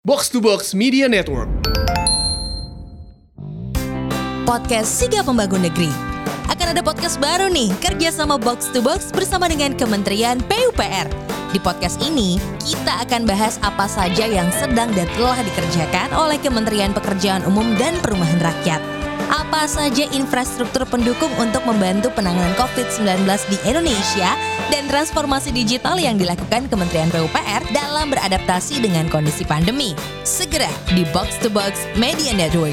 Box to Box Media Network. Podcast Siga Pembangun Negeri. Akan ada podcast baru nih, kerjasama Box to Box bersama dengan Kementerian PUPR. Di podcast ini, kita akan bahas apa saja yang sedang dan telah dikerjakan oleh Kementerian Pekerjaan Umum dan Perumahan Rakyat. Apa saja infrastruktur pendukung untuk membantu penanganan COVID-19 di Indonesia dan transformasi digital yang dilakukan Kementerian PUPR dalam beradaptasi dengan kondisi pandemi. Segera di Box to Box Media Network.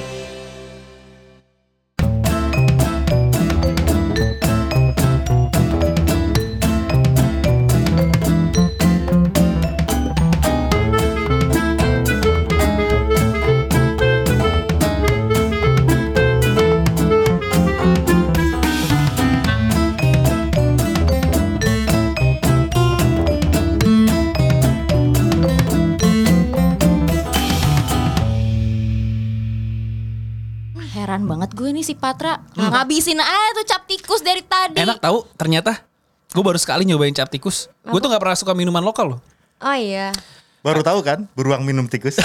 Heran banget gue nih si Patra ngabisin aja tuh cap tikus dari tadi. Enak tahu ternyata. Gue baru sekali nyobain cap tikus. Gue tuh gak pernah suka minuman lokal loh. Oh iya. Baru tahu kan beruang minum tikus.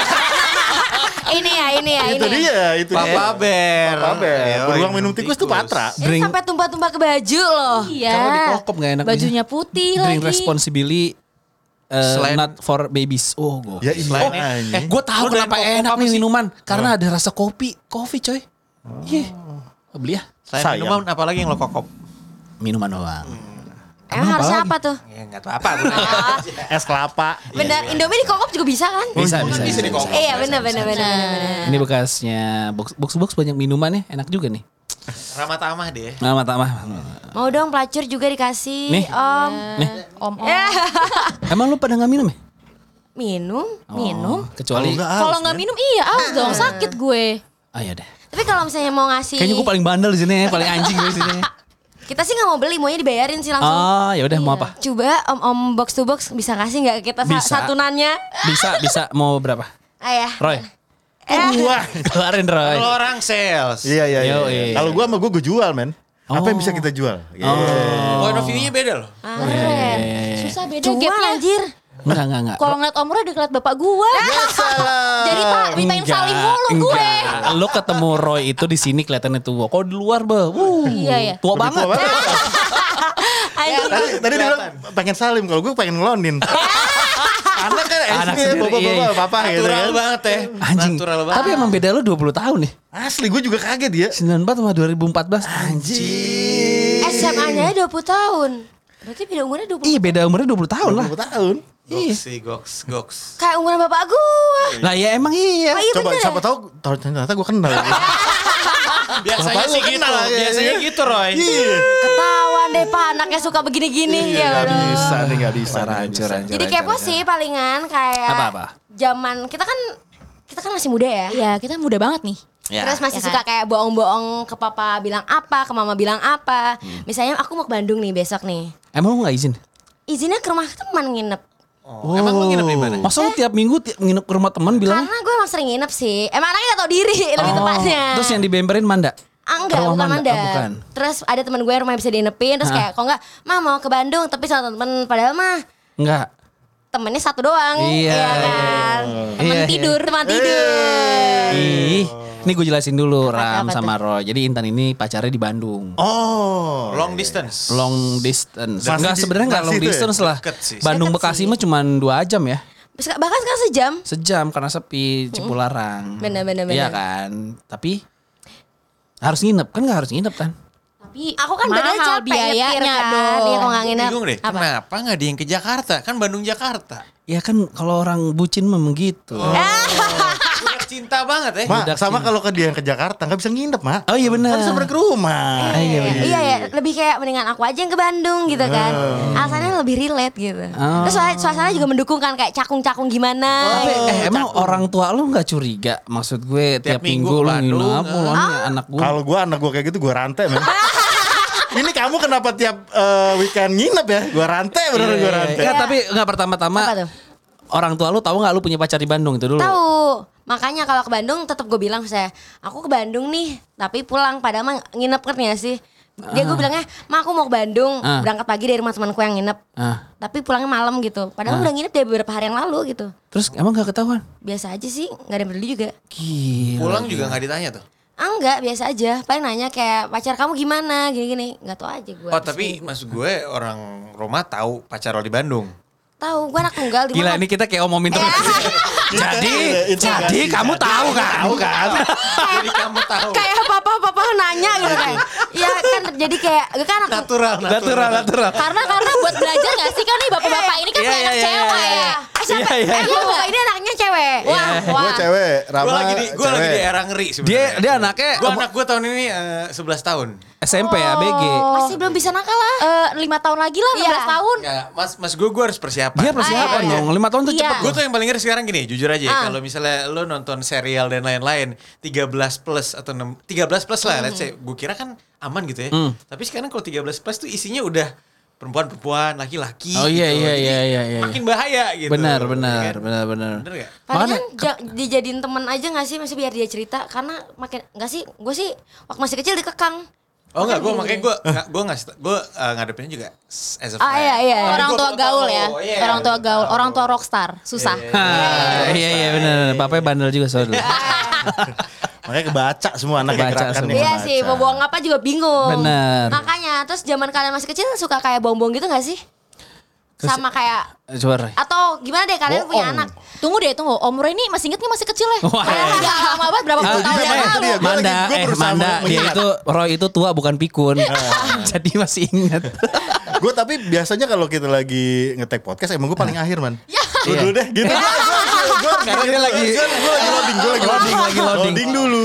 Ini ya. Itu dia. Papa Bear. Beruang minum tikus tuh Patra. Ini sampai tumpah-tumpah ke baju loh. Iya. Kalau dikokop gak enak. Bajunya putih Drink lagi. responsibly. Selain- Not for babies. Oh, gue. Ya iya. Gue tahu Lu kenapa doyan enak apa nih sih? minuman. Karena ada rasa kopi coy. Iya. Beli ya. Selain Sayang. minuman apalagi yang lo kokop? Minuman doang. Emang harusnya apa tuh? Ya enggak tahu apa gunanya. Es kelapa. Bener, Indomie dikokop juga bisa kan? Bisa. dikokop. Iya bener. Ini bekasnya box banyak minuman ya. Enak juga nih. Ramah tamah deh. Nama tamah. Mau dong pelacur juga dikasih. Nih. Om. Nih. Om. Emang lu pada gak minum ya? Minum. Kecuali. Kalau nggak minum iya aus dong sakit gue. Ah ya deh. Tapi kalau misalnya mau ngasih, Kayaknya gue paling bandel di sini ya. Paling anjing gue di sini. kita sih nggak mau beli, maunya dibayarin sih langsung. Oh ya udah mau apa? Coba om box to box bisa kasih nggak kita Bisa. satunannya? Bisa mau berapa? Ayah. Roy. Wah. Keluarin Roy. Kalau orang sales. Iya. Yoi. Kalau gua sama gua jual, men. Apa yang bisa kita jual? Point of view-nya beda loh. Susah beda Iya. gapnya anjir. Enggak. Kalau ngeliat Om Roy deket bapak gua. Jadi tak mintain salim mulu gue. Enggak. Lo ketemu Roy itu di sini kelihatannya tua. Kok di luar, Iya ya. tua banget. Anjir. Tadi dia bilang pengen salim, kalau gua pengen ngelonin. Anak kan Anak SD, sendiri, bapak-bapak, iya. papa gitu Natural kan. banget ya. Anjing. Natural banget. Tapi emang beda lo 20 tahun nih. Asli gua juga kaget ya. 94 sama 2014. Anjing. SMA-nya 20 tahun. Berarti beda umurnya 20. Iya beda umurnya 20 tahun lah. 20 tahun. Iya. Goks. Kayak umuran bapak gua. Lah ya emang iya. Oh, iya Coba bener. siapa tahu ternyata gua kenal. Biasanya Bapak sih lu gitu. kenal ya, Biasanya iya. gitu, Roy. Iya. Ketahuan deh pak anaknya suka begini-gini ya. Nggak udah. bisa nih, nggak bisa. Hancur. Jadi kepo sih palingan kayak Apa-apa? zaman kita kan masih muda ya. Iya, kita muda banget nih. Ya. Terus masih Ya suka kayak bohong-bohong ke papa bilang apa, ke mama bilang apa. Misalnya aku mau ke Bandung nih besok nih. Emang lu gak izin? Izinnya ke rumah teman nginep. Emang lu nginep di mana? Masa lu tiap minggu nginep ke rumah teman bilang? Karena gue emang sering nginep sih. Emang anaknya gak tau diri lebih tepatnya. Terus yang dibemperin Manda? Enggak, Rumah bukan Manda? Manda. Oh, bukan. Terus ada teman gue yang rumahnya bisa diinepin. Terus kayak, kok enggak, Ma mau ke Bandung tapi sama temen. Padahal mah Enggak. temennya satu doang. Iya. Kan. Temen Iya. tidur. Ih, ini gue jelasin dulu Ram apa sama Roy. Jadi Intan ini pacarnya di Bandung. Oh. Long distance. Long distance. Masih Enggak di- sebenarnya enggak masih long itu ya? distance lah. Deket sih. Bandung Deket Bekasi sih. mah cuma 2 jam ya. Bahkan sekarang sejam. Sejam karena sepi Cipularang. Bener. Iya kan. Tapi harus nginep kan nggak harus nginep kan? Tapi Aku kan mahal bener capek biayanya nyetir kan. dong. Iya, kalau nggak nginep. Bingung deh. Apa? Kenapa nggak ada yang ke Jakarta? Kan Bandung Jakarta. Ya kan kalau orang bucin memang gitu. Udah cinta banget ya. Mak, Budak sama sini. kalau ke dia yang ke Jakarta nggak bisa nginep, Mak. Oh iya benar. Kan bisa balik ke rumah. Iya benar. Iya ya, lebih kayak mendingan aku aja yang ke Bandung gitu kan. Alasannya lebih relate gitu. Oh. Terus suasana juga mendukung kan kayak cakung-cakung gimana. Tapi gitu. emang orang tua lu nggak curiga? Maksud gue tiap Tiap minggu minggu lu ke Bandung, nginep, lu nih anak gue. Kalau anak gua kayak gitu gua rantai, men. Ini kamu kenapa tiap weekend nginep ya? Gua rantai beneran gua rantai. Enggak, tapi enggak pertama-tama. Apa tuh? Orang tua lu tahu nggak lu punya pacar di Bandung itu dulu? Tahu. Makanya kalau ke Bandung tetap gue bilang aku ke Bandung nih, tapi pulang padahal mah nginep kan ya sih. Dia gue bilangnya, "Ma, aku mau ke Bandung, berangkat pagi dari rumah temanku yang nginep. Tapi pulangnya malam gitu. Padahal udah nginep dari beberapa hari yang lalu gitu. Terus emang gak ketahuan? Biasa aja sih, gak ada yang peduli juga. Gila. Pulang juga nggak ditanya tuh. Enggak, biasa aja. Paling nanya kayak pacar kamu gimana, gini-gini. Gak tau aja gue. Oh tapi maksud gue orang Roma tahu pacar lo di Bandung. Tahu, gue anak tunggal di Gila mana? ini kita kayak omongin terus. Jadi kamu tahu kan? Jadi kamu tahu. Kayak papa nanya gitu kan. Iya kan jadi kayak gue kan anak Natural. Karena buat belajar gak sih kan nih bapak-bapak ini kan Iya, punya anak iya, cewek iya. ya. siapa? Iya, Emang bapak ini anaknya cewek. Wah. Gue cewek, Rama Gue lagi di era ngeri sebenarnya. Dia anaknya Anak gue tahun ini 11 tahun. SMP ABG. Masih belum bisa nakal lah. 5 tahun lagi lah, 16 tahun. Ya, mas gue harus persiapan. Dia persiapan dong. 5 tahun tuh Iya. cepet. Gue tuh yang paling ngeri sekarang gini, jujur aja ya, kalau misalnya lo nonton serial dan lain-lain 13 plus atau 13 plus lah, let's say, gue kira kan aman gitu ya. Tapi sekarang kalau 13 plus tuh isinya udah perempuan, laki-laki. Oh iya gitu. iya Jadi iya. makin bahaya gitu. Benar. Ya kan? Benar. Bener gak? Padahal dijadiin temen aja gak sih, masih biar dia cerita. Karena makin, gak sih, gue sih waktu masih kecil dikekang. Oh enggak, gue ngadepinnya juga as a friend. Iya. Orang tua gaul ya. Iya. Orang tua gaul, orang tua rockstar, susah. Iya benar. Bapaknya bandel juga soalnya. Makanya kebaca semua anak yang Kebaca gerakan semua. yang Iya kebaca. sih, mau buang apa juga bingung. Benar. Makanya, terus zaman kalian masih kecil suka kayak bongbong gitu gak sih? Sama kayak, Coba Ray. atau gimana deh kalian punya Bohong. anak? Tunggu deh, Om Roy ini masih inget gak masih kecil ya? Wah. Udah lama banget, berapa puluh Itu tahun juga, yang Mas. lalu. Itu dia. Gua berusaha Manda, dia mengingat. itu Roy itu tua bukan pikun. Jadi masih ingat. Gue tapi biasanya kalau kita lagi nge-tag podcast emang gue paling akhir man. Lu dulu deh gitu. Karena dia lagi loading dulu.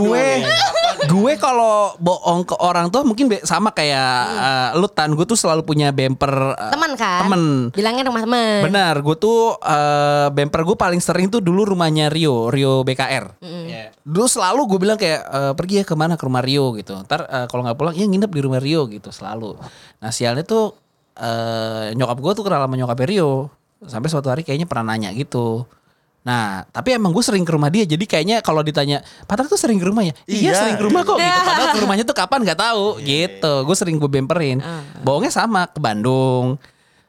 Gue kalau bohong ke orang tuh mungkin sama kayak lu Tan, gue tuh selalu punya bumper Teman kan? Temen. Bilangnya rumah temen. Benar, gue tuh bumper gue paling sering tuh dulu rumahnya Rio BKR. Iya. Dulu selalu gue bilang kayak pergi ya kemana, ke rumah Rio gitu. Ntar kalau nggak pulang ya nginep di rumah Rio gitu selalu. Nah sialnya tuh nyokap gue tuh kenal sama nyokap Rio. Sampai suatu hari kayaknya pernah nanya gitu. Nah, tapi emang gue sering ke rumah dia. Jadi kayaknya kalau ditanya, Patar tuh sering ke rumahnya? Iya, Iya. sering ke rumah kok gitu. Padahal ke rumahnya tuh kapan gak tahu gitu. Gue sering gue bemperin. Bohongnya sama ke Bandung.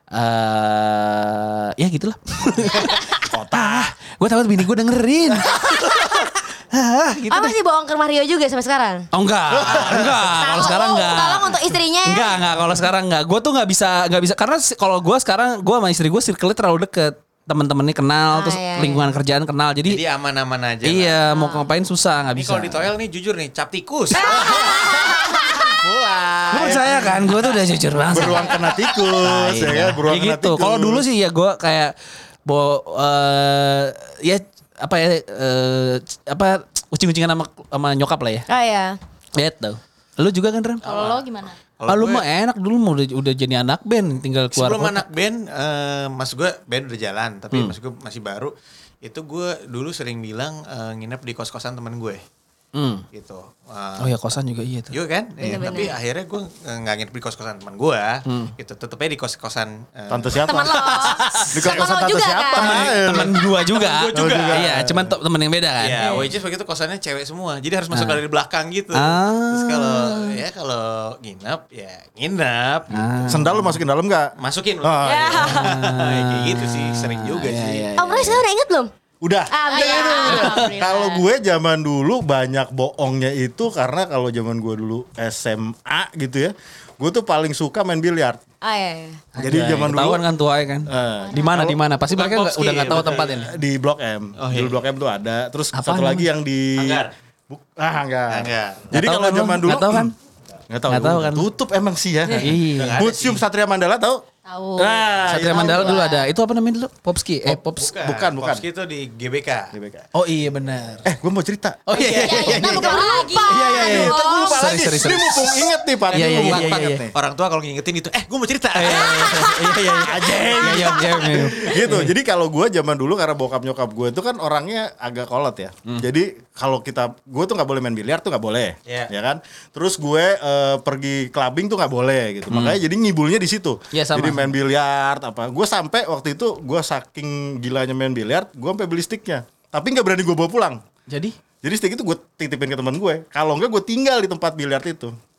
Ya gitulah. Kota. Gue takut bini gue dengerin. Gitu Oh deh. masih bohong ke rumah Rio juga sampai sekarang? Oh enggak. Kalau sekarang enggak. Tolong untuk istrinya ya. Enggak, kalau sekarang enggak. Gue tuh nggak bisa karena kalau gue sekarang gue sama istri gue circle-nya terlalu deket. Temen-temennya kenal, terus iya. lingkungan kerjaan kenal. Jadi Jadi aman-aman aja. iya, mau ngapain susah, nggak Ini bisa. kalau di toel nih jujur nih, cap tikus. Lu percaya kan? Gue tuh udah jujur banget. Beruang kena tikus ya kan, beruang Ya kena gitu. tikus. Kalau dulu sih ya gue kayak ya ucing-ucingan sama nyokap lah ya. Oh iya. Gitu. Lu juga kan Ram? Kalau lo gimana? Kalau Lu gue- mah enak dulu mau udah jadi anak band, tinggal keluar Sebelum kota. anak band, mas gue band udah jalan, tapi mas gue masih baru. Itu gue dulu sering bilang nginep di kos-kosan temen gue, gitu. Oh ya kosan juga iya tuh. Iya kan? Iya, tapi akhirnya gue nggak nginep di kos-kosan teman gue, gitu. Tetepnya di kos-kosan Tante siapa? Teman lo. Di kosan Teman lo tante juga siapa? kan? Temen gua juga. Temen gua juga. Iya, cuman temen yang beda kan. Ya, which is begitu kosannya cewek semua. Jadi harus masuk dari belakang gitu. Ah. Terus kalau nginep ya nginep. Gitu. Sendal lu masukin dalam gak? Masukin. Oh, iya. Kayak gitu sih, sering juga sih. Om Roy sekarang udah inget belum? Udah. Alhamdulillah. Kalau gue zaman dulu banyak bohongnya itu karena kalau zaman gue dulu SMA gitu ya, gue tuh paling suka main biliar. Oh iya. Jadi zaman dulu Ketahuan kan tua ya kan. Eh, Di mana? Pasti Bukan mereka Popski, udah nggak tahu betul. tempat ini. di Blok M. Oh, Di iya. Blok M tuh ada. Terus Apaan satu lagi yang di Hanggar. Hanggar. Hanggar. Jadi Nggak tahu kalau kan lu? zaman dulu Nggak tahu kan? Nggak tahu. Nggak tahu kan? Tutup emang sih ya. Iya. Museum Satria Mandala tahu? Tahu. Nah, Satria itu. Mandala dulu ada. Itu apa namanya dulu? Popski. Bukan. Popski itu di GBK. Oh iya benar. Gue mau cerita. Oh iya. Kita lupa lagi. Iya. Gue lupa Sorry, lagi. sorry. Ini mumpung inget nih, Pak. Iya, Ini iya, mumpung iya, banget iya. nih. Orang tua kalau ngingetin itu, gue mau cerita. Iya. Iya. Gitu. Jadi kalau gue zaman dulu karena bokap nyokap gue itu kan orangnya agak kolot ya. Jadi kalau gue tuh nggak boleh main biliar tuh nggak boleh, Iya. ya kan. Terus gue pergi clubbing tuh nggak boleh gitu. Makanya jadi ngibulnya di situ. Iya, sama. Jadi main biliar apa. Gue sampai waktu itu gue saking gilanya main biliar, gue sampai beli sticknya. Tapi nggak berani gue bawa pulang. Jadi Jadi stick itu gue titipin ke teman gue. Kalau enggak gue tinggal di tempat biliar itu.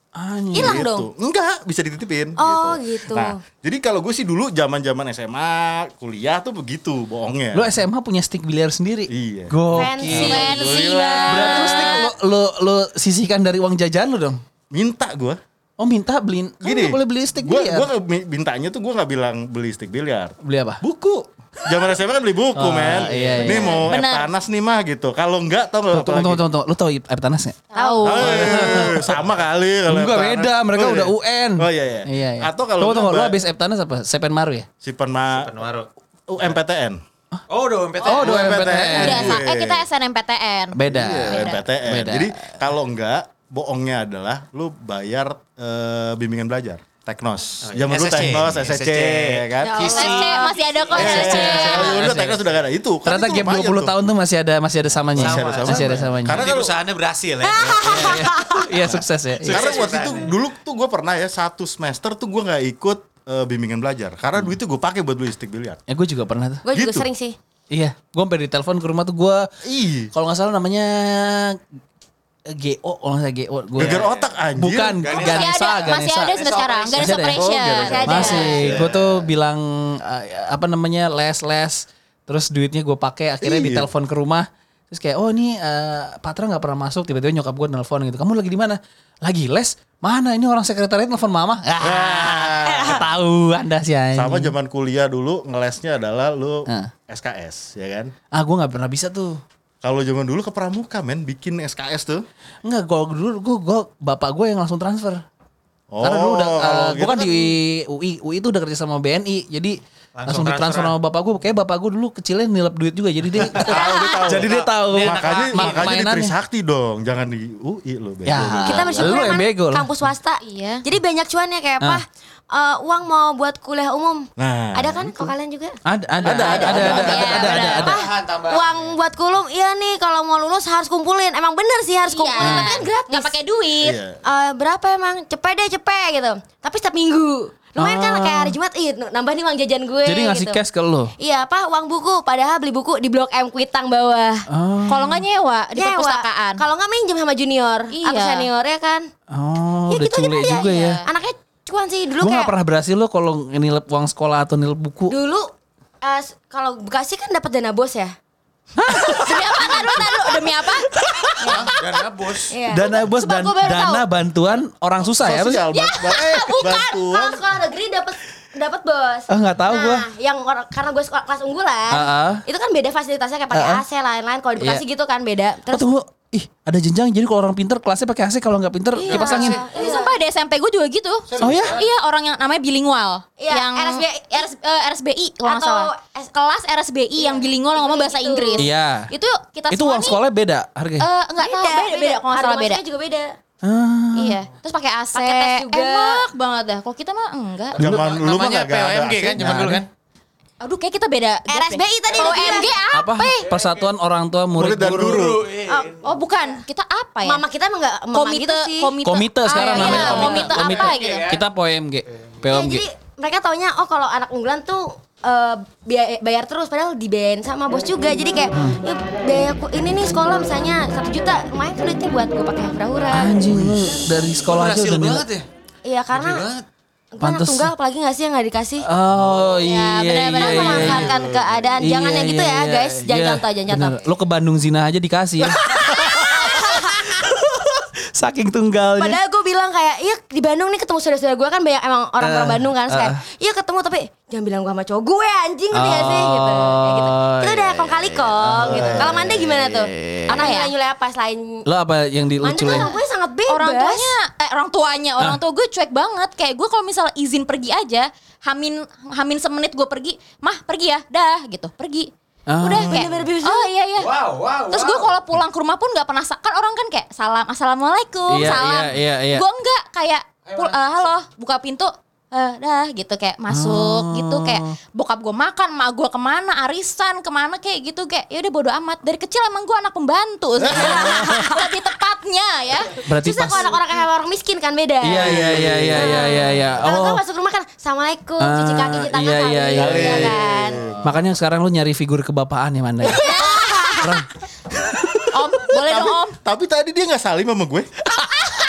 Hilang Gitu. dong. Enggak, bisa dititipin. Oh, gitu. Nah, jadi kalau gue sih dulu zaman-zaman SMA, kuliah tuh begitu bohongnya. Lu SMA punya stick biliar sendiri? Iya. Fancy banget. Berarti lu stick lu sisihkan dari uang jajan lu dong? Minta gue. Oh minta beliin. Kan Gini, nggak boleh beli stick gue biliar. mintanya tuh gue nggak bilang beli stick biliar. Beli apa? Buku. Zaman SMA kan beli buku, men. iya, Ini iya. mau Benar. Eptanas nih mah gitu. Kalau enggak tau nggak? Tunggu. Lu tau Eptanas nggak? Tahu. Sama kali kalau Enggak Eptanas. beda, mereka Oh, udah iya. UN. Oh iya. Iya. Atau kalau tunggu, lu enggak, habis Eptanas apa? Sepen Maru ya? Simpan Penwaru. UMPTN. Oh, udah MPT. Oh, udah MPTN. Udah, Iya. kita SNMPTN. Beda. Iya, MPTN. Beda. Jadi kalau enggak, bohongnya adalah lu bayar bimbingan belajar. Teknos. Oh, iya. Zaman dulu SSC. Teknos, SSC, ya kan? Ya Allah, SC masih ada kok SSC. SC. Kalau dulu Teknos sudah gak ada itu. Kan Ternyata itu gap lumayan 20 tuh. tahun tuh masih ada samanya. Masih ada samanya. Masih ada samanya. Karena Jadi kalau perusahaannya berhasil ya. Iya sukses ya. Karena waktu itu dulu tuh gue pernah ya 1 semester tuh gue nggak ikut bimbingan belajar karena duit itu gue pakai buat beli stick biliar. Ya gue juga pernah tuh. Gue juga Gitu. sering sih. Iya, gue sampai ditelepon ke rumah tuh gue. Ih, Kalau nggak salah namanya GO, kalau nggak salah GO. geger otak anjir. Bukan, Ganesha. Masih ada sampai sekarang. Ganesha Masih ada ya? Operation. Oh, Masih ada. Masih, gue tuh bilang apa namanya les, terus duitnya gue pakai, akhirnya Iya. ditelepon ke rumah, terus kayak oh ini Patra nggak pernah masuk, tiba-tiba nyokap gue nelfon gitu, kamu lagi di mana? Lagi les? Mana ini orang sekretariat nelfon mama? Ketahuan dah sih anjing. Sama zaman kuliah dulu ngelesnya adalah lu Nah. SKS, ya kan? Gue nggak pernah bisa tuh. Kalau zaman dulu ke pramuka men bikin SKS tuh. Enggak, kalau dulu gue bapak gue yang langsung transfer. Oh, Karena dulu udah, kalau gue gitu kan di UI itu udah kerja sama BNI, jadi langsung ditransfer sama bapak gue. Kayak bapak gue dulu kecilnya nilep duit juga, jadi dia jadi dia tahu. Makanya di mainannya. Trisakti dong, jangan di UI lo. Ya. Kita bersyukur Lu yang kan bego lah. kampus swasta. Iya. Jadi banyak cuannya kayak apa? Uang mau buat kuliah umum. Nah, Ada kan kok kalian juga? Ada. Tambahan. Uang buat kulum, iya nih kalau mau lulus harus kumpulin. Emang bener sih harus kumpulin, tapi kan gratis. Nggak pakai duit. Iya. Berapa emang? Cepet gitu. Tapi setiap minggu. Lumayan kan kayak hari Jumat, nambah nih uang jajan gue. Jadi ngasih gitu. cash ke lu. Iya, uang buku. Padahal beli buku di Blok M Kuitang bawah. Kalau nggak nyewa di Nyewa. perpustakaan. Kalau nggak minjem sama junior Iya. atau senior ya kan. Oh, Ya udah gitu aja culek ya. juga ya. Anaknya cuan sih dulu Gue kayak gak pernah berhasil lo kalau nilep uang sekolah atau nilep buku. dulu kalau Bekasi kan dapat dana bos ya. Demi apa? Taruh. Demi apa? Dana bos. Iya. Dana bos Sumpah, dan gua baru dana tahu. bantuan orang susah ya. Sosial bantuan. Kalau sekolah negeri dapat bos. Nggak tahu nah, gua. yang karena gue sekolah kelas unggulan, itu kan beda fasilitasnya kayak pakai AC lain-lain. Kalau di Bekasi Iya. gitu kan beda. Oh, Terus tunggu. Ih, ada jenjang. Jadi kalau orang pinter kelasnya pakai AC, kalau nggak pinter kipas angin. Ini sumpah di SMP gue juga gitu. Oh ya? Iya, orang yang namanya bilingual. Iya, yang RSBI. kalau nggak Atau salah. Kelas RSBI yang bilingual yang ngomong bahasa Itu. Inggris. Iya. Itu kita Itu semua uang nih, sekolahnya beda harganya. enggak tahu beda kalau nggak Harga salah beda. masuknya juga beda. Iya. Terus pakai AC. Pakai tes juga. Enak banget dah. Kalau kita mah enggak. Zaman lu mah Namanya gak ada POMG kan zaman dulu kan. Aduh, kayak kita beda. RSBI tadi udah OMG bilang. apa? Persatuan Orang Tua Murid Murid dan Guru. Guru. Oh, bukan. Kita apa ya? Mama kita emang gak komite, gitu sih. Komite sekarang iya, namanya komite apa gitu. Kita POMG. Ya, POMG. jadi mereka taunya kalau anak unggulan tuh bayar terus padahal dibayarin sama bos juga. Jadi kayak ya, biaya ini nih sekolah misalnya 1 juta, lumayan kan duitnya buat gue pakai hura-hura. Anjing lu dari sekolah aja Berhasil udah banget ya. Iya karena banget. gue anak Pantes. tunggal apalagi gak sih yang gak dikasih. Oh iya benar-benar memanfaatkan keadaan. Jangan yang gitu ya, guys. Jangan contoh, jangan contoh. Lo ke Bandung Zina aja dikasih ya. Saking tunggalnya. Padahal gue bilang kayak, iya di Bandung nih ketemu saudara-saudara gue kan banyak emang orang-orang Bandung kan. Terus kayak, iya ketemu tapi jangan bilang gue sama cowok gue anjing ngerti gak sih gitu. Kayak gitu. Itu udah kong kali kong gitu. Kalau Manda gimana tuh? Anak nyule apa selain Lo apa yang Manda dilucu kan orang gue sangat bebas. Orang tua gue cuek banget. Kayak gue kalau misalnya izin pergi aja, hamin semenit gue pergi, mah pergi ya, dah gitu, pergi. Udah kayak, Bener-bener bebas. oh iya. Wow. Terus gue kalau pulang ke rumah pun nggak pernah kan orang kan kayak salam assalamualaikum Iya, salam. iya. Gue enggak kayak halo buka pintu dah gitu kayak masuk gitu kayak bokap gue makan, mak gue kemana arisan kemana kayak gitu kayak ya udah bodo amat. Dari kecil emang gue anak pembantu lebih tepatnya ya. Berarti Susah kalau anak-orang kayak orang miskin kan beda. Iya. Kalau gue masuk rumah kan assalamualaikum, cuci kaki, cuci tangan, Iya. iya kan. Makanya sekarang lu nyari figur kebapaan ya Manda. Om boleh dong om. Tapi tadi dia gak salim sama gue. Karena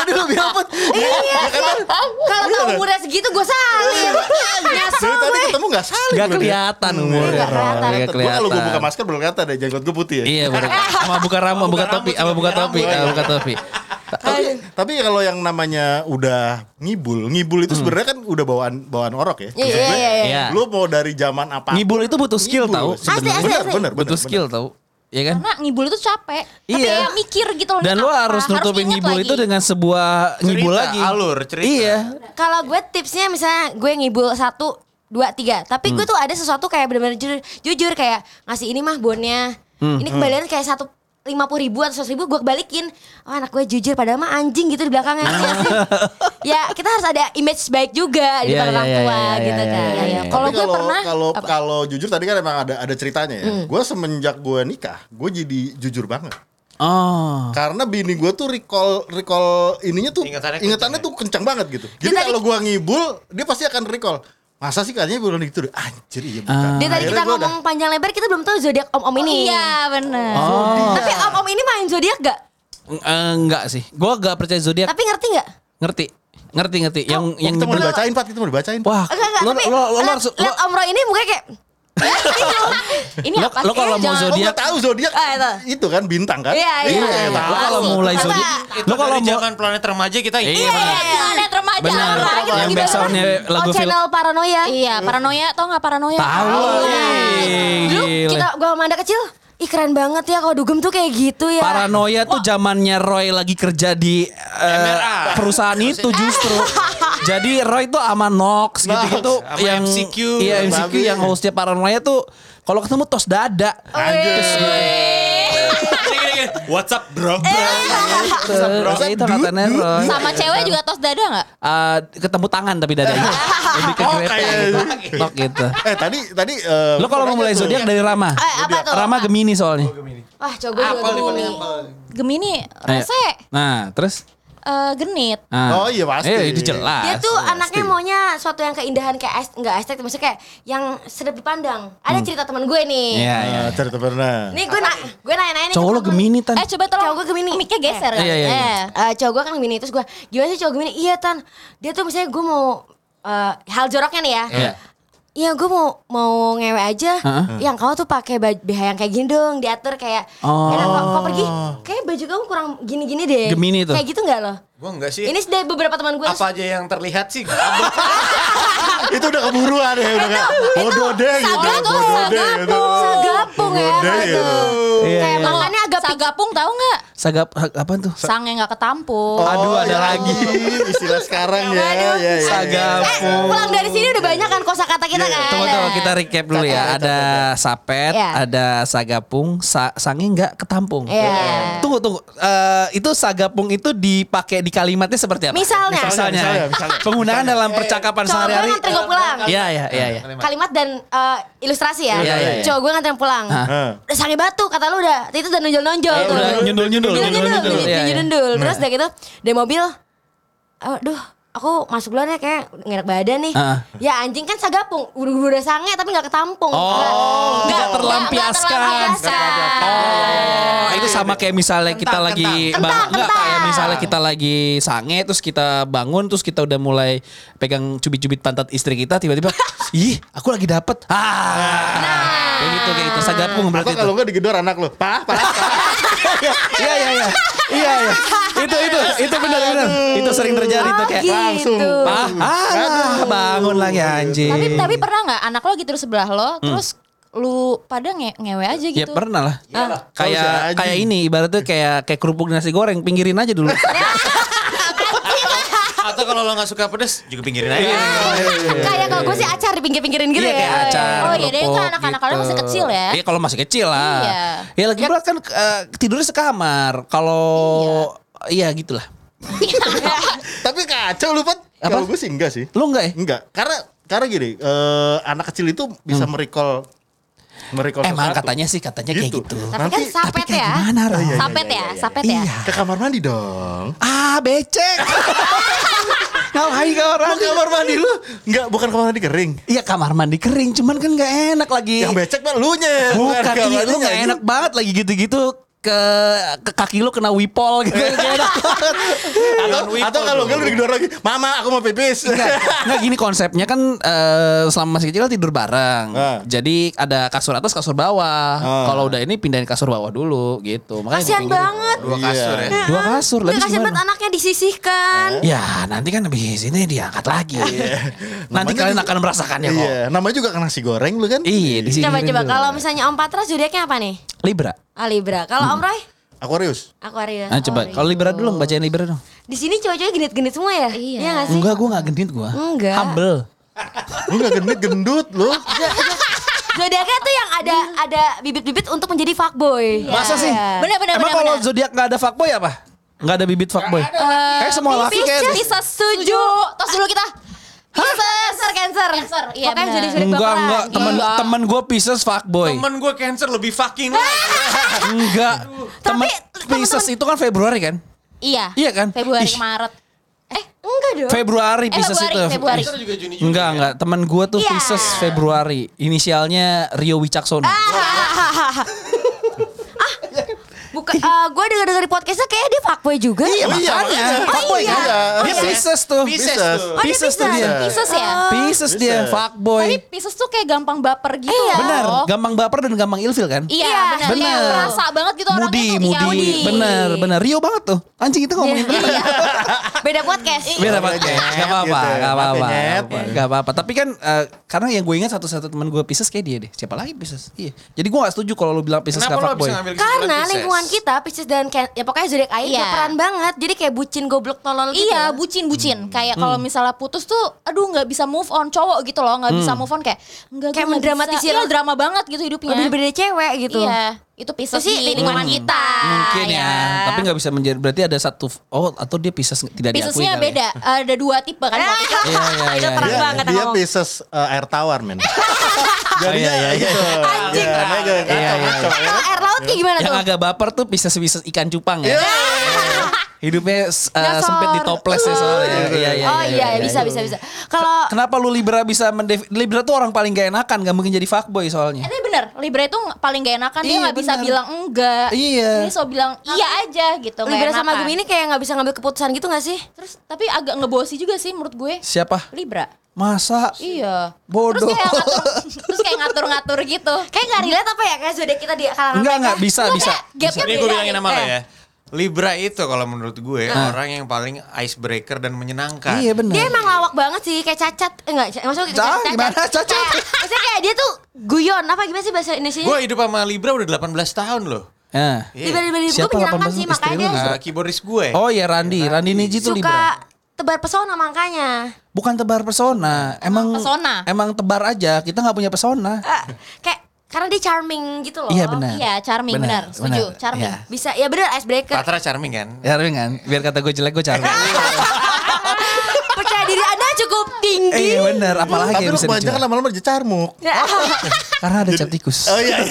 tadi lu bilang Put. Iya. Kalau tau umurnya segitu gue salin. Nyesel Dari tadi gue. ketemu gak saling. Gak lu dia. kelihatan umurnya. Nggak kelihatan. Nggak Gua kalau gue buka masker belum kelihatan deh jenggot gue putih ya. Iya bener. Sama buka rambut, buka topi, sama buka topi, buka topi. Tapi kalau yang namanya udah ngibul itu sebenarnya kan udah bawaan orok ya. Iya, iya, iya. Iya. Lu mau dari zaman apa? Ngibul itu butuh skill tahu sebenarnya. Bener. Butuh skill tahu. Iya kan? Karena ngibul itu capek. Tapi Iya. ya mikir gitu loh. Dan ini lo apa, harus nutupin inget ngibul lagi. itu dengan sebuah ngibul Cerita, lagi. alur, cerita. Iya. Kalau gue tipsnya misalnya gue ngibul 1, 2, 3. Tapi gue tuh ada sesuatu kayak bener-bener jujur kayak ngasih ini mah bonnya. Ini kembaliannya kayak 50.000 atau 100.000 gue kebalikin. Oh anak gue jujur padahal mah anjing gitu di belakangnya. Iya sih. Ya kita harus ada image baik juga di Iya, depan orang iya, tua iya, gitu iya, kan. iya, iya. Kalau Tapi gue pernah kalau jujur tadi kan emang ada ceritanya ya. Gue semenjak gue nikah, gue jadi jujur banget. Oh. Karena bini gue tuh recall ininya tuh Ingatannya tuh kencang banget gitu. Jadi tadi- kalau gue ngibul, dia pasti akan recall. Masa sih katanya bulan gitu deh. Anjir iya bukan. dia tadi Akhirnya kita gua ngomong panjang lebar kita belum tahu zodiak om-om ini. Iya bener. Oh. Tapi om-om ini main zodiak gak? Enggak sih. Gua gak percaya zodiak. Tapi ngerti gak? Ngerti. Yang kita mau bener- dibacain Pat, kita mau dibacain. Wah, Enggak, lo tapi harus lihat Om Roy ini mukanya kayak Ini lo- apa lo sih? kalau mau Jangan- Oh, zodiak gak tahu zodiak itu kan bintang kan? Iya, iya. Lo kalau Asik. mulai Coba. zodiak, Itu lo kalau dari mau zaman planet remaja kita Iya, iya. Planet remaja. Bener. Orang Yang lagi backsoundnya banget. lagu film. channel paranoia. Iya, paranoia tau gak paranoia? Tahu lah. Dulu Gila. gua sama Manda kecil, ih keren banget ya kalau dugem tuh kayak gitu ya. Paranoia tuh zamannya Roy lagi kerja di perusahaan itu justru. Jadi Roy tuh sama Nox gitu-gitu Sama yang MCQ. Iya MCQ Babi. yang hostnya Paranoia tuh kalau ketemu tos dada. What's up bro? Ya itu katanya Roy. Sama cewek juga tos dada gak? Ketemu tangan tapi dadanya. Lebih ke grepe gitu. Tok gitu. Tadi Lo kalau mau mulai zodiak dari Rama. apa tuh? Rama Gemini soalnya. Wah, coba juga Gemini. Gemini, Ayo. rese, Nah, terus genit. Nah. Oh, iya, pasti. Itu jelas. Dia tuh anaknya maunya suatu yang keindahan kayak enggak estetik, maksudnya kayak yang sedap dipandang. Ada cerita teman gue nih. Iya, iya. cerita pernah. Nih gue nanya-nanya nih. Cowok ke lo temen gue. Gemini Tan. Coba tolong. Cowok gue Gemini. Mic-nya geser kan? Iya, iya, iya. Cowok gue kan Gemini. Terus gue, gimana sih cowok Gemini? Iya Tan, dia tuh misalnya gue mau hal joroknya nih ya. Iya. Iya gue mau ngewe aja. Yang kamu tuh pakai BH yang kayak gini dong, diatur kayak. Oh. Enak kok pergi. Kayak baju kamu kurang gini-gini deh. Gemini tuh. Kayak gitu nggak lo? Gua enggak sih. Ini dari beberapa teman gue. Apa aja yang terlihat sih? Itu udah keburuan ya, udah kayak bodoh deh gitu. Sagapung, Bodoh deh gitu. Sagapung ya. Bodoh Aduh. gitu. Iya, Kayak iya. makannya agak Sagapung tahu nggak? Sagap apaan tuh? Sangnya nggak ketampung. Aduh, ada ya lagi. ampun, istilah sekarang ya. Aduh. Ya, ya. Sagapung. pulang dari sini udah banyak kan kosakata kita kan. Tunggu kita recap dulu ya. Ada sapet, Iya. ada sagapung, sange nggak ketampung. Iya. Tunggu. Itu sagapung itu dipakai di kalimatnya seperti apa? Misalnya. Misalnya. Misalnya. Penggunaan dalam percakapan Cowok gue sehari-hari. nganterin gue pulang. Iya. Kalimat dan ilustrasi ya. Iya, iya, iya. Cowok gue nganterin pulang. Hah. Udah sange batu kata lu udah. Itu udah nonjol-nonjol tuh. udah nyundul-nyundul. Iya, iya. Nyundul. Terus udah gitu dari mobil. Aduh, aku masuk duluan ya kayak nggak enak badan nih. Ya anjing kan sagapung. Udah sange tapi nggak ketampung. Nggak terlampiaskan. Oh, itu sama kayak misalnya kita lagi Kentang. kayak misalnya kita lagi sange terus kita bangun terus kita udah mulai pegang cubit-cubit pantat istri kita tiba-tiba ih, aku lagi dapet. Kayak gitu sagapung berarti Atau kalau itu. enggak digedor anak lo. Pak. Iya. Itu benar. Itu sering terjadi tuh kayak langsung. Pak, bangun lagi anjing. Tapi pernah nggak anak lo gitu di sebelah lo, terus lu pada ngewe aja Ya gitu? pernah lah. Tahu si Kayak anjing. kayak ini ibaratnya kayak kerupuk nasi goreng, pinggirin aja dulu. Atau kalau lo nggak suka pedes juga pinggirin aja. Kayak kalau gue sih acar di pinggir-pinggirin gitu Iya, ya. kayak acar. Oh, iya deh, kerupuk kan anak-anak kalian masih kecil ya? Iya kalau masih kecil lah. Iya. Ya lagi pula kan tidurnya sekamar. Kalau iya gitulah. Tapi kacau lu Pat. Apa? Kalau gue sih enggak sih. Lu enggak ya? Enggak. Karena gini, anak kecil itu bisa merecall Emang sesuatu. katanya kayak gitu. Tapi kan sapet ya. Gimana Ram? Sapet ya, sapet ya. Iya. Ke kamar mandi dong. Becek. Ngapain ke orang? Lu kamar mandi lu? Enggak, bukan kamar mandi kering. Iya kamar mandi kering, cuman kan nggak enak lagi. Yang becek mah lu nya. Bukan, iya, lu mandinya, gak anjing. enak banget lagi gitu-gitu ke kaki lu kena wipol gitu. Atau kalau gue lu digedor lagi, mama aku mau pipis. Nggak gini konsepnya kan selama masih kecil tidur bareng. Jadi ada kasur atas kasur bawah. Kalau udah ini pindahin kasur bawah dulu gitu. Makanya Kasian dipinggirin. banget. Dua kasur ya. Dua kasur Nggak lebih kasian banget anaknya disisihkan. Ya nanti kan habis ini diangkat lagi. Nanti Namanya kalian juga- akan merasakannya kok. Iya, namanya juga kan nasi goreng lu kan. Iya di sini. Coba kalau misalnya Om Patra zodiaknya apa nih? Libra. Libra. Kalau Om Roy? Aquarius. Aquarius. Nah coba kalau Libra dulu bacain Libra dong. Di sini cowok-cowoknya genit-genit semua ya? Iya. Nggak sih? Enggak, gue gak genit gue. Enggak. Humble. Lu gak gendut lu. Zodiaknya tuh yang ada bibit-bibit untuk menjadi fuckboy. Masa sih? Benar. Emang kalau zodiak gak ada fuckboy apa? Gak ada bibit fuckboy? Kayak semua laki kayak Pisces setuju. Tos dulu kita. Cancer. Iya, Pokoknya benar. zodiak-zodiak Enggak, baperan. temen gue Pisces fuckboy. Temen gue Cancer lebih fucking lagi. Enggak. Temen Tapi Pisces itu kan Februari kan? Iya. Iya kan? Februari Ih. ke Maret. Enggak dong. Februari Pisces itu. Februari. Cancer juga Juni Enggak. Temen gue tuh Iya. Pisces Februari. Inisialnya Rio Wicaksono. Bukan, gue denger di podcastnya kayak dia fuckboy juga. Iya makanya. Fuckboy iya. kan? Dia Pisces tuh. Pisces tuh. Oh, dia Pisces tuh dia. Pisces ya. Pisces dia fuckboy. Tapi Pisces tuh kayak gampang baper gitu Iya. loh. Benar, gampang baper dan gampang ilfil kan? Iya, benar. Benar. Kayak merasa banget gitu orangnya Mudi, tuh. Iya, mudi. Benar. Rio banget tuh. Anjing itu ngomongin bener. Beda podcast. Beda banget. Gak apa-apa, Gitu. gak apa-apa. Nyet. Gak apa-apa. Tapi kan karena yang gue ingat satu-satu teman gue Pisces kayak dia deh. Siapa lagi Pisces? Iya. Jadi gue gak setuju kalau lu bilang Pisces gak Kenapa lo fuckboy. bisa ngambil kesimpulan Karena Pisces? lingkungan kita Pisces dan ya pokoknya zodiak air Iya. berperan banget. Jadi kayak bucin goblok tolol gitu. Iya, bucin. Kayak kalau misalnya putus tuh, aduh nggak bisa move on cowok gitu loh, nggak bisa move on kayak nggak Kayak gue nggak mendramatisir. bisa. Iya, drama banget gitu hidupnya. Gak bisa beda cewek gitu. Iya, itu Pisces Itu sih di lingkungan kita. Mungkin ya. ya. Tapi gak bisa menjadi berarti ada satu atau dia Pisces tidak diakui Piscesnya kali ya. beda, ada dua tipe kan. Kalau kita- Iya, iya, Itu iya. terang iya. banget Dia ngomong. Pisces air tawar men. Jadinya iya, iya. gitu. Anjing. Ya, nah, gitu. Iya, iya, iya. Kalau air laut kayak gimana Yang tuh? agak baper tuh Pisces ikan cupang ya. Hidupnya Nyasar. sempit di toples ya soalnya. Oh iya, bisa. Kalau Kenapa lu Libra bisa Libra tuh orang paling gak enakan, gak mungkin jadi fuckboy soalnya. Ini bener, Libra itu paling gak enakan. Dia Iya, nggak bisa bener. bilang enggak. Iya. Ini so bilang iya aja gitu. nggak Libra sama enakan. Gemini kayak gak bisa ngambil keputusan gitu gak sih? Terus tapi agak ngebosi juga sih menurut gue. Siapa? Libra. Masa? Iya. Bodoh. Terus kayak ngatur-ngatur gitu. Kayak gak relate apa ya kayak zodiak kita di kalangan Enggak, bisa. Gapnya Ini gue beda bilangin gitu. nama lo ya. Libra itu kalau menurut gue orang yang paling icebreaker dan menyenangkan. Iya benar. Dia emang lawak banget sih kayak cacat. Enggak, maksudnya kayak Gimana cacat? Kayak- Maksudnya kayak dia tuh guyon. Apa gimana sih bahasa Indonesianya? Gue hidup sama Libra udah 18 tahun loh. Nah. Tiba-tiba gue Siapa menyenangkan 18 sih istri makanya lu? dia Keyboardis gue. Oh iya Randi Niji tuh Libra. suka tebar pesona makanya. Bukan tebar pesona, emang Pesona. Emang tebar aja. Kita nggak punya pesona. Kayak karena dia charming gitu loh. Iya benar. Iya, charming benar. Setuju, charming. Iya. Bisa ya bener icebreaker. Patra charming kan? Charming kan? Biar kata gue jelek gue charming. Percaya diri Anda cukup tinggi. Iya benar. Apalagi Tapi yang lu bisa kebanyakan dijual. lama-lama jadi carmuk. Karena ada cap tikus. Oh iya.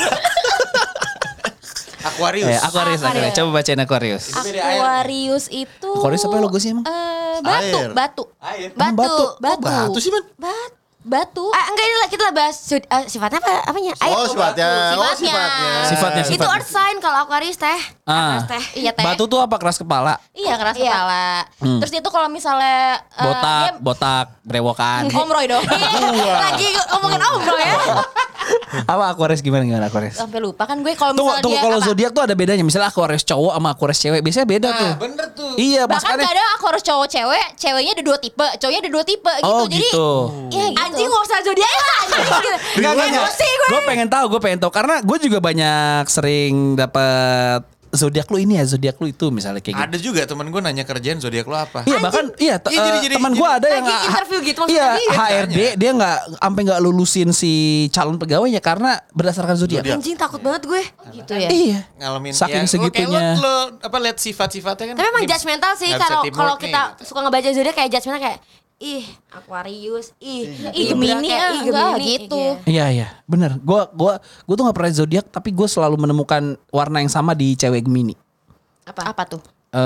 Aquarius. Aquarius. Coba bacain Aquarius. Aquarius itu Aquarius apa logo sih emang? Batu, Air. batu. Air. Batu. Batu sih man. Batu. Enggak ini lah kita lah bahas sifatnya apa apanya? Oh sifatnya. Oh Sifatnya. sifatnya. Itu earth sign kalau Aquarius teh. Ah. Aquarius teh. Iya teh. Batu tuh apa keras kepala? Iya keras Iya. kepala. Terus itu kalau misalnya Botak, brewokan. Om Roy dong. Lagi ngomongin Om Bro ya. Apa Aquarius gimana Aquarius? Sampai lupa kan gue kalau Tunggu, misalnya dia kalau apa? zodiak tuh ada bedanya. Misalnya Aquarius cowok sama Aquarius cewek, biasanya beda tuh. Bener tuh. Iya, Bahkan makanya. kadang aku harus cowok cewek, ceweknya ada dua tipe, cowoknya ada dua tipe gitu. Oh, Jadi gitu. ya gitu. Anjing gak usah zodiak lah. Enggak. Emosi gue. Gue pengen tahu karena gue juga banyak sering dapat zodiak lu ini ya, zodiak lu itu misalnya kayak gitu. Ada juga temen gue nanya kerjaan zodiak lo apa? Iya bahkan iya Iya, jadi- teman gue ada yang lagi interview gitu maksudnya iya dia. HRD dia nggak lulusin si calon pegawainya karena berdasarkan zodiak. Anjing takut banget gue. gitu ya. Iya. Ngalamin Saking ya, segitunya. lo apa lihat sifat-sifatnya kan. Tapi emang ini judgmental sih nggak bisa kalau teamwork nih, kita gitu. suka ngebaca zodiak kayak judgmental kayak ih Aquarius, ih Gemini, enggak gitu. Iya bener. Gue tuh nggak pernah zodiak tapi gue selalu menemukan warna yang sama di cewek Gemini. Apa tuh?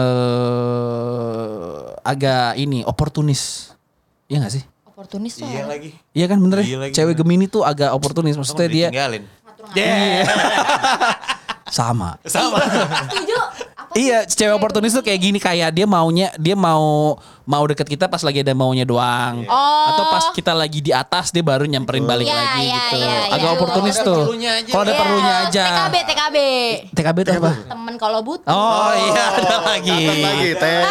Agak ini oportunis. Iya gak sih? Oportunis tuh. Iya lagi. Iya kan bener Iya ya? lagi, Cewek bener. Gemini tuh agak oportunis. Maksudnya dia Ditinggalin. Sama. Setuju. Iya, cewek oportunis tuh kayak gini, kayak dia mau deket kita pas lagi ada maunya doang. Atau pas kita lagi di atas dia baru nyamperin balik Iya, lagi iya, gitu. iya, iya. Agak oportunis Kalau ada tuh. perlunya aja. Kalau ada Iya, perlunya aja. TKB. TKB itu apa? Temen kalau butuh. Oh iya, ada lagi. Catat lagi,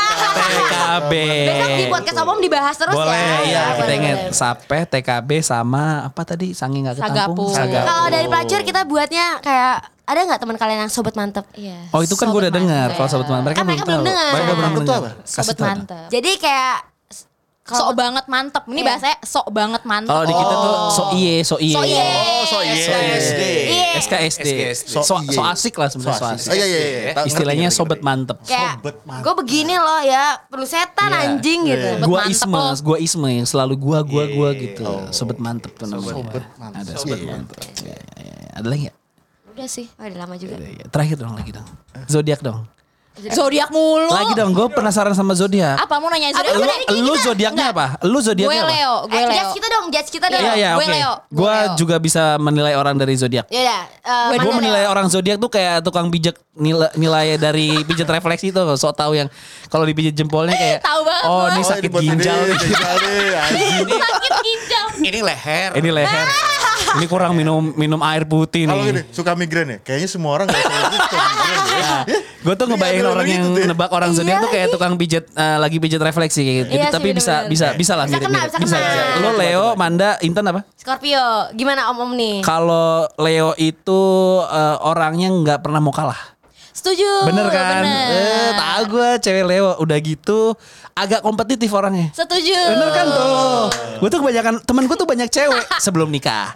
TKB. Besok di podcast Omom dibahas terus ya. Boleh, iya kita boleh, ingat boleh. Sape, TKB sama apa tadi? Sange nggak ketampung. Sagapu. Kalau dari pelacur kita buatnya kayak ada nggak teman kalian yang sobat mantep? Iya. Oh itu kan gue udah dengar. Kalau sobat teman mereka Kan mereka belum belum tahu. dengar. Mereka belum Mantep tuh dengar. apa? Kasih Sobat tahu. mantep. Jadi kayak Sok banget mantep. Ini Iya. bahasanya sok banget mantep. Kalau di kita tuh so iye. So iye. Oh, so iye. SKSD. Iya. SKSD. SKSD. So asik lah sebenarnya so asik. Oh iya iya. Tahu, Istilahnya ngerti, sobat ngerti. mantep. Kayak Sobat mantep. gue begini loh ya, perlu setan Iya. anjing gitu. Sobat Gua mantep Isme, lo. yang selalu gua gitu. Sobat mantep tuh namanya. Sobat mantep. Ada sobat mantep. Iya, iya. Ada lagi nggak? Udah sih. Oh, udah lama juga. Iya. Terakhir dong lagi dong. Zodiak dong. Zodiak mulu. Lagi dong. Gue penasaran sama zodiak. Apa mau nanya zodiak? Apa? Udah, Lu zodiaknya apa? Lu Gue zodiaknya apa? Leo, gue Leo. Judge kita dong. Iya iya Gue oke. Leo. Gue juga bisa menilai orang dari zodiak. Yaudah, Gue Gue mana menilai Leo? orang zodiak tuh kayak tukang pijat nilai dari pijat refleksi tuh, sok tahu yang kalau dipijat jempolnya kayak Tahu banget oh gua. ini sakit ginjal. Ginjal nih, anjing. Sakit ginjal. Ini leher. Ini leher. Ini kurang minum air putih Kalau gini, nih. suka migrain ya? Kayaknya semua orang gak suka migrain ya. Gue tuh ngebayangin Iya, orang yang gitu deh. nebak orang zodiak tuh kayak tukang pijat lagi pijat refleksi kayak gitu. Iya sih, Tapi bener-bener. bisa lah Bisa mirip-mirip. kena, bisa kena. Lo Leo, Manda, Intan apa? Scorpio, gimana Om nih? Kalau Leo itu orangnya nggak pernah mau kalah. Setuju. Bener kan? Bener. Tahu gue cewek Leo udah gitu agak kompetitif orangnya. Setuju. Bener kan tuh? Gue tuh kebanyakan temen gue tuh banyak cewek sebelum nikah.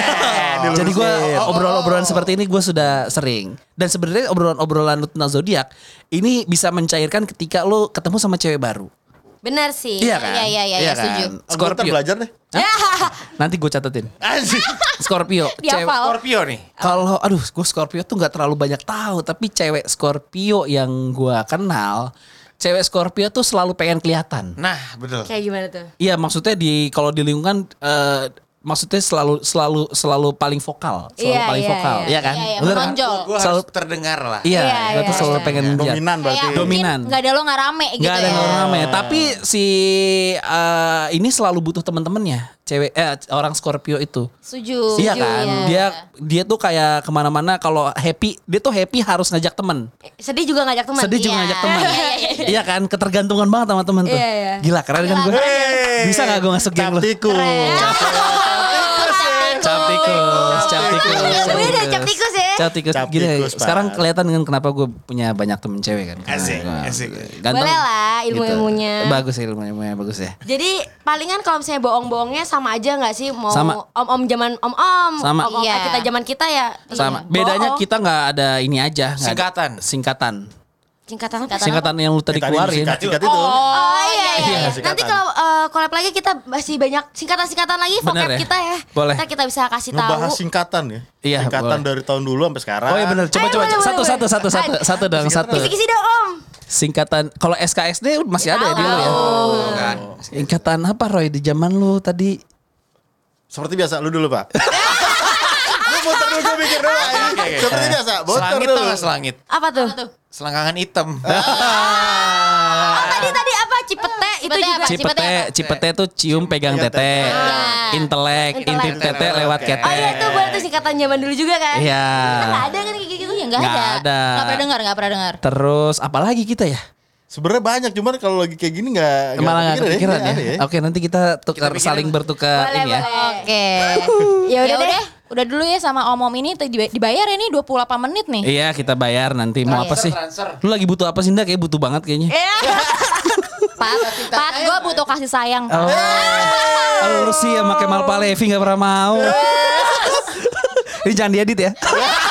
Jadi gue obrolan-obrolan seperti ini gue sudah sering. Dan sebenarnya obrolan-obrolan tentang zodiak ini bisa mencairkan ketika lo ketemu sama cewek baru. Bener sih. Iya kan? Iya, setuju. Aku ntar Scorpio. belajar deh. Nanti gue catetin. Anjing. Scorpio. Dihafal. Scorpio nih. Kalau gue Scorpio tuh nggak terlalu banyak tahu, tapi cewek Scorpio yang gue kenal, cewek Scorpio tuh selalu pengen kelihatan. Nah, betul. Kayak gimana tuh? Iya, maksudnya kalau di lingkungan maksudnya selalu paling vokal, Iya, paling iya, vokal, iya. iya kan? Iya, Bener kan? menonjol. Gue Selalu- harus terdengar lah. Iya, Iya, gue tuh iya, selalu iya. pengen lihat. Dominan berarti. Kayak Dominan. mungkin gak ada lo gak rame gitu Gak ada ya. yang rame, tapi si ini selalu butuh teman-temannya, cewek orang Scorpio itu. Setuju. Iya kan, dia tuh kayak kemana-mana kalau happy, dia tuh happy harus ngajak temen. Sedih juga ngajak teman. Sedih juga Iya. ngajak teman. Iya, Iya kan, ketergantungan banget sama temen tuh. Iya, iya. Gila keren kan gue. Bisa gak gue masuk geng lu? Captikus. Cap Gue udah cap tikus ya. Cap tikus. Cap Gini, tikus, Pak. sekarang kelihatan kan kenapa gue punya banyak temen cewek kan. Karena Asik, gua asik. ganteng. Boleh lah ilmu-ilmunya. Gitu. Bagus ya ilmu-ilmunya, bagus ya. Jadi palingan kalau misalnya bohong-bohongnya sama aja nggak sih mau Sama. om-om zaman om-om, Sama. om-om Iya. kita zaman kita ya. Sama. Bohong. Bedanya kita nggak ada ini aja. nggak ada Singkatan. Singkatan apa? Singkatan yang lu tadi Tadi keluarin. singkat itu. Oh iya, Iya, iya. singkatan. Nanti kalau collab lagi kita masih banyak singkatan-singkatan lagi Bener vocab ya? kita ya. Boleh. Ntar kita bisa kasih tahu. Ngebahas singkatan ya. Iya, Singkatan boleh. dari tahun dulu sampai sekarang. Oh iya benar. Coba Ayo, boleh, satu boleh. satu dong satu. Kisi-kisi dong om. Singkatan kalau SKSD masih ada ya di lu ya. Kan. Singkatan apa Roy di zaman lu tadi? Seperti biasa lu dulu, Pak. Lu muter dulu, gue mikir dulu. Seperti biasa, muter Selangit dulu. tau gak selangit? Apa tuh? Selangkangan hitam. Oh, tadi apa Cipete itu Cipete juga. apa? Cipete tuh cium pegang tete. Intelek, intip tete lewat Oh iya ketek. tuh buat tuh singkatan zaman dulu juga kan. Iya. Nggak ada kan kayak gitu. Iya gak Nggak ada. ada. Gak pernah dengar. Terus apalagi kita ya? Sebenarnya banyak, cuman kalau lagi kayak gini nggak Malah nggak kepikiran ya. Aneh ya. Oke nanti kita tukar saling bertukar Boleh, ini ya. boleh. Oke. Ya udah deh. Udah dulu ya sama om-om ini dibayar ya nih 28 menit nih. Iya kita bayar nanti mau apa sih? transfer. Lu lagi butuh apa sih Nda? Kayak butuh banget kayaknya. Pat, gue butuh kasih sayang. Oh, lu sih sama Kemal Palevi gak pernah mau. Ini jangan diedit ya.